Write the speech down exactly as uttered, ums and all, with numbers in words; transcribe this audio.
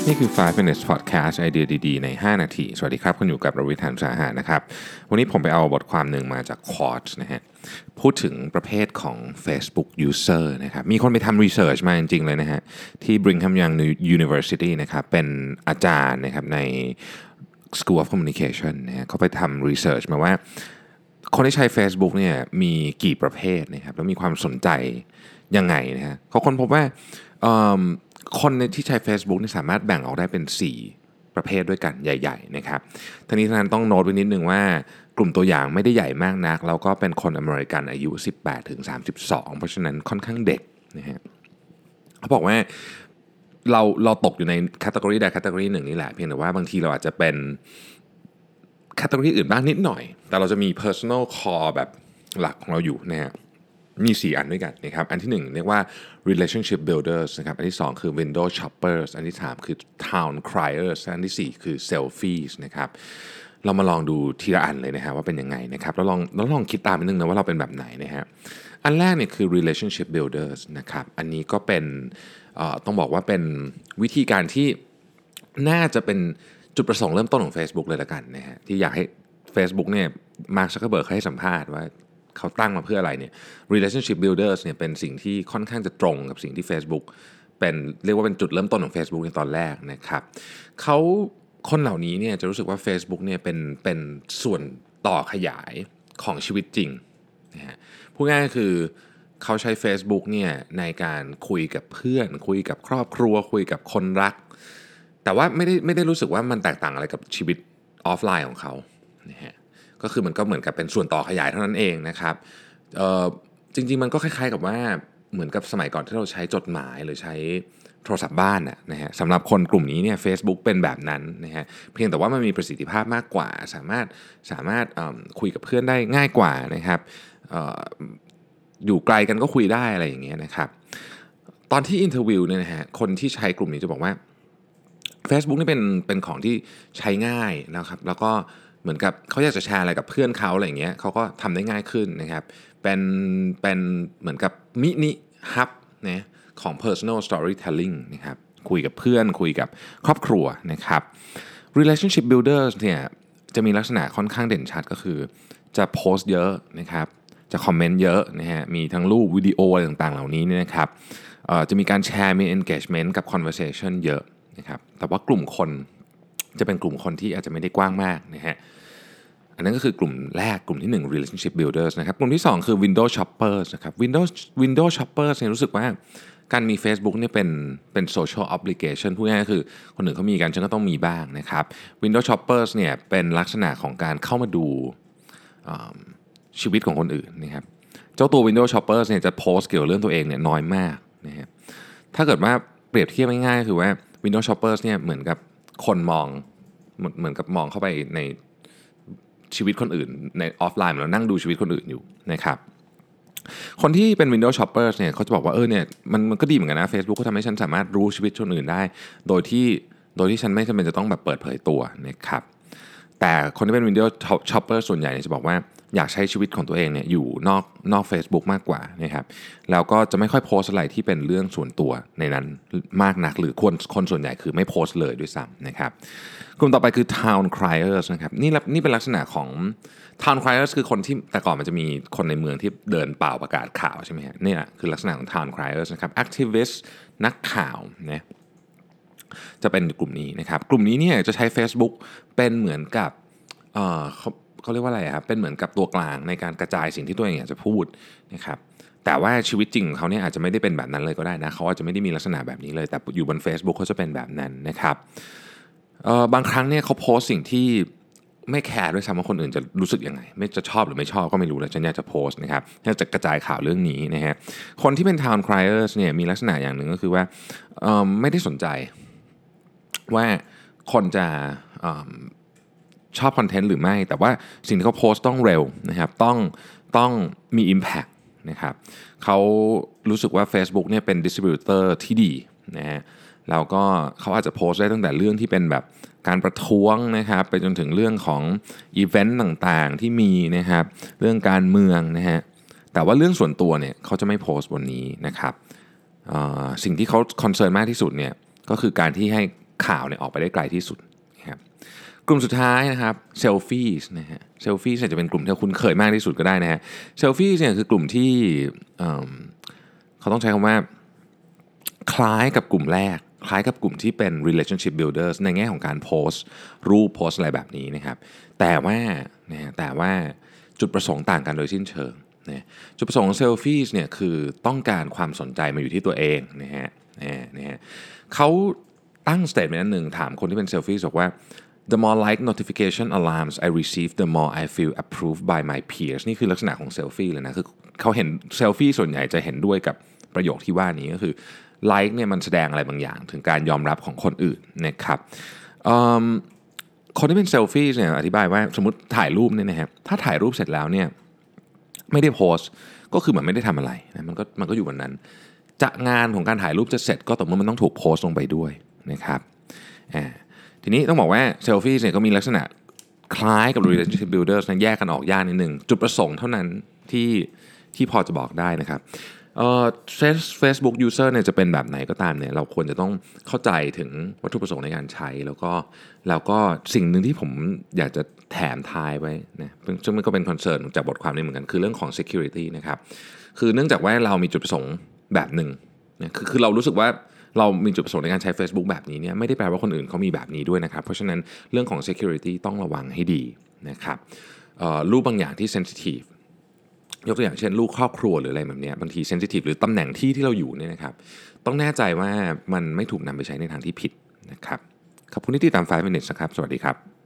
นี่คือ ไฟว์ minutes podcast ไอเดียดีๆในห้านาทีสวัสดีครับคุณอยู่กับรวิทย์ หาญอุตสาหะนะครับวันนี้ผมไปเอาบทความหนึ่งมาจาก Quartz นะฮะพูดถึงประเภทของ Facebook user นะครับมีคนไปทำ research มาจริงๆเลยนะฮะที่ Brigham Young University นะครับเป็นอาจารย์นะครับใน School of Communication นะฮะเขาไปทำ research มาว่าคนที่ใช้ Facebook เนี่ยมีกี่ประเภทนะครับแล้วมีความสนใจยังไงนะฮะเขาค้นพบว่าคนที่ใช้ Facebook นี่สามารถแบ่งออกได้เป็นสี่ประเภทด้วยกันใหญ่ๆนะครับทั้งนี้ทั้งนั้นต้องโน้ตไว้นิดนึงว่ากลุ่มตัวอย่างไม่ได้ใหญ่มากนักแล้วก็เป็นคนอเมริกันอายุ สิบแปดถึงสามสิบสอง เพราะฉะนั้นค่อนข้างเด็กนะฮะเขาบอกว่าเราเราตกอยู่ในแคตตากรีใดแคตตากรีหนึ่งนี่แหละเพียงแต่ว่าบางทีเราอาจจะเป็นแคตตากรีอื่นบ้างนิดหน่อยแต่เราจะมี personal core แบบหลักของเราอยู่นะฮะมีสี่อันด้วยกันนะครับอันที่หนึ่งเรียกว่า relationship builders นะครับอันที่สองคือ window shoppers อันที่สามคือ town criers อันที่สี่คือ selfies นะครับเรามาลองดูทีละอันเลยนะฮะว่าเป็นยังไงนะครับแล้วลองแล้วลองคิดตามนิดนึงนะว่าเราเป็นแบบไหนนะฮะอันแรกเนี่ยคือ relationship builders นะครับอันนี้ก็เป็นเอ่อต้องบอกว่าเป็นวิธีการที่น่าจะเป็นจุดประสงค์เริ่มต้นของ Facebook เลยละกันนะฮะที่อยากให้ Facebook เนี่ย Mark Zuckerberg ให้สัมภาษณ์ว่าเขาตั้งมาเพื่ออะไรเนี่ย relationship builders เนี่ยเป็นสิ่งที่ค่อนข้างจะตรงกับสิ่งที่ Facebook เป็นเรียกว่าเป็นจุดเริ่มต้นของ Facebook ในตอนแรกนะครับเขาคนเหล่านี้เนี่ยจะรู้สึกว่า Facebook เนี่ยเป็นเป็นส่วนต่อขยายของชีวิตจริงนะฮะพูดง่ายๆคือเขาใช้ Facebook เนี่ยในการคุยกับเพื่อนคุยกับครอบครัวคุยกับคนรักแต่ว่าไม่ได้ไม่ได้รู้สึกว่ามันแตกต่างอะไรกับชีวิตออฟไลน์ของเขานะฮะก็คือมันก็เหมือนกับเป็นส่วนต่อขยายเท่านั้นเองนะครับจริงๆมันก็คล้ายๆกับว่าเหมือนกับสมัยก่อนที่เราใช้จดหมายหรือใช้โทรศัพท์บ้านนะนะฮะสำหรับคนกลุ่มนี้เนี่ย Facebook เป็นแบบนั้นนะฮะเพียงแต่ว่ามันมีประสิทธิภาพมากกว่าสามารถสามารถคุยกับเพื่อนได้ง่ายกว่านะครับออยู่ไกลกันก็คุยได้อะไรอย่างเงี้ยนะครับตอนที่อินเทอร์วิวเนี่ยนะฮะคนที่ใช้กลุ่มนี้จะบอกว่า Facebook นี่เป็นเป็นของที่ใช้ง่ายนะครับแล้วก็เหมือนกับเขาอยากจะแชร์อะไรกับเพื่อนเขาอะไรอย่างเงี้ยเขาก็ทำได้ง่ายขึ้นนะครับเป็นเป็นเหมือนกับมินิฮับนะของ personal storytelling นะครับคุยกับเพื่อนคุยกับครอบครัวนะครับ relationship builders เนี่ยจะมีลักษณะค่อนข้างเด่นชัดก็คือจะโพสต์เยอะนะครับจะคอมเมนต์เยอะนะฮะมีทั้งรูปวิดีโออะไรต่างๆเหล่านี้เนี่ยนะครับจะมีการแชร์มี engagement กับ conversation เยอะนะครับแต่ว่ากลุ่มคนจะเป็นกลุ่มคนที่อาจจะไม่ได้กว้างมากนะฮะอันนั้นก็คือกลุ่มแรกกลุ่มที่หนึ่ง relationship builders นะครับกลุ่มที่สองคือ window shoppers นะครับ window window shoppers เนี่ยรู้สึกว่าการมี Facebook เนี่ยเป็นเป็น social obligation พูดง่ายๆก็คือคนอื่นเขามีกันฉันก็ต้องมีบ้างนะครับ window shoppers เนี่ยเป็นลักษณะของการเข้ามาดูชีวิตของคนอื่นนะครับเจ้าตัว window shoppers เนี่ยจะโพสต์เกี่ยวกับเรื่องตัวเองเนี่ยน้อยมากนะฮะถ้าเกิดว่าเปรียบเทียบง่ายๆก็คือว่า Windows Shoppers เนี่ยเหมือนกับคนมองเหมือนกับมองเข้าไปในชีวิตคนอื่นในออฟไลน์แล้วนั่งดูชีวิตคนอื่นอยู่นะครับคนที่เป็น Windows Shoppers เนี่ยเขาจะบอกว่าเออเนี่ยมันมันก็ดีเหมือนกันนะ Facebook ก็ทำให้ฉันสามารถรู้ชีวิตคนอื่นได้โดยที่โดยที่ฉันไม่จำเป็นจะต้องแบบเปิดเผยตัวนะครับแต่คนที่เป็น Windows Shopper ส่วนใหญ่จะบอกว่าอยากใช้ชีวิตของตัวเองเนี่ยอยู่นอกนอก Facebook มากกว่านะครับแล้วก็จะไม่ค่อยโพสอะไรที่เป็นเรื่องส่วนตัวในนั้นมากนักหรือคนคนส่วนใหญ่คือไม่โพสเลยด้วยซ้ำนะครับกลุ่มต่อไปคือ town criers นะครับนี่นี่เป็นลักษณะของ town criers คือคนที่แต่ก่อนมันจะมีคนในเมืองที่เดินเป่าประกาศข่าวใช่ไหมฮะนี่แหละคือลักษณะของ town criers นะครับ activist นักข่าวนะจะเป็นกลุ่มนี้นะครับกลุ่มนี้เนี่ยจะใช้ Facebook เป็นเหมือนกับเอ่อเขาเขาเรียกว่าอะไรครับเป็นเหมือนกับตัวกลางในการกระจายสิ่งที่ตัวเองอยากจะพูดนะครับแต่ว่าชีวิตจริงของเขาเนี่ยอาจจะไม่ได้เป็นแบบนั้นเลยก็ได้นะเขาอาจจะไม่ได้มีลักษณะแบบนี้เลยแต่อยู่บน Facebook เขาจะเป็นแบบนั้นนะครับเอ่อบางครั้งเนี่ยเขาโพสต์สิ่งที่ไม่แคร์ด้วยซ้ำว่าคนอื่นจะรู้สึกยังไงไม่จะชอบหรือไม่ชอบก็ไม่รู้แล้วฉันอยากจะโพสต์นะครับอยากจะกระจายข่าวเรื่องนี้นะฮะคนที่เป็น town criers เนี่ยมีลักษณะอย่างหนึ่งก็คือว่าเอ่อไม่ได้สนใจว่าคนจะชอบคอนเทนต์หรือไม่แต่ว่าสิ่งที่เขาโพสต์ต้องเร็วนะครับต้องต้องมี impact นะครับเขารู้สึกว่า Facebook เนี่ยเป็น distributor ที่ดีนะฮะแล้วก็เขาอาจจะโพสต์ได้ตั้งแต่เรื่องที่เป็นแบบการประท้วงนะครับไปจนถึงเรื่องของอีเวนต์ต่างๆที่มีนะครับเรื่องการเมืองนะฮะแต่ว่าเรื่องส่วนตัวเนี่ยเขาจะไม่โพสต์บนนี้นะครับสิ่งที่เขาคอนเซิร์นมากที่สุดเนี่ยก็คือการที่ให้ข่าวเนี่ยออกไปได้ไกลที่สุดนะครับกลุ่มสุดท้ายนะครับเซลฟี่นะฮะเซลฟี่เนี่ยจะเป็นกลุ่มที่คุณเคยมากที่สุดก็ได้นะฮะเซลฟี่เนี่ยคือกลุ่มที่เอิ่มเขาต้องใช้คำว่าคล้ายกับกลุ่มแรกคล้ายกับกลุ่มที่เป็น relationship builders ในแง่ของการโพสต์รูปโพสต์อะไรแบบนี้นะครับแต่ว่านะแต่ว่าจุดประสงค์ต่างกันโดยสิ้นเชิงนะจุดประสงค์ของเซลฟี่เนี่ยคือต้องการความสนใจมาอยู่ที่ตัวเองนะฮะนะฮะเขาตั้งสเตทเมนต์อันหนึ่งถามคนที่เป็นเซลฟี่บอกว่า the more like notification alarms I receive the more I feel approved by my peers นี่คือลักษณะของเซลฟี่เลยนะคือเขาเห็นเซลฟี่ส่วนใหญ่จะเห็นด้วยกับประโยคที่ว่านี้ก็คือไลค์เนี่ยมันแสดงอะไรบางอย่างถึงการยอมรับของคนอื่นนะครับคนที่เป็นเซลฟี่เนี่ยอธิบายว่าสมมติถ่ายรูปเนี่ยนะครับถ้าถ่ายรูปเสร็จแล้วเนี่ยไม่ได้โพสต์ก็คือเหมือนไม่ได้ทำอะไรนะมันก็มันก็อยู่บนนั้นจะงานของการถ่ายรูปจะเสร็จก็ต่อเมื่อมันต้องถูกโพสต์ลงไปด้วยนะครับอ่าทีนี้ต้องบอกว่าเซลฟี่เนี่ยก็มีลักษณะคล้ายกับ relationship builders นะแยกกันออกยากนิดนึงจุดประสงค์เท่านั้นที่ที่พอจะบอกได้นะครับเอ่อ Facebook user เนี่ยจะเป็นแบบไหนก็ตามเนี่ยเราควรจะต้องเข้าใจถึงวัตถุประสงค์ในการใช้แล้วก็แล้วก็สิ่งหนึ่งที่ผมอยากจะแถมทายไว้นะซึ่งมันก็เป็นคอนเซิร์นจากบทความนี้เหมือนกันคือเรื่องของ security นะครับคือเนื่องจากว่าเรามีจุดประสงค์แบบหนึ่งนะคือคือเรารู้สึกว่าเรามีจุดประสงค์ในการใช้ Facebook แบบนี้เนี่ยไม่ได้แปลว่าคนอื่นเขามีแบบนี้ด้วยนะครับเพราะฉะนั้นเรื่องของ security ต้องระวังให้ดีนะครับรูปบางอย่างที่ sensitiveยกตัวอย่างเช่นลูกครอบครัวหรืออะไรแบบนี้บางทีเซนซิทีฟหรือตำแหน่งที่ที่เราอยู่เนี่ยนะครับต้องแน่ใจว่ามันไม่ถูกนำไปใช้ในทางที่ผิดนะครับขอบคุณที่ติดตามไฟว์ minutes นะครับสวัสดีครับ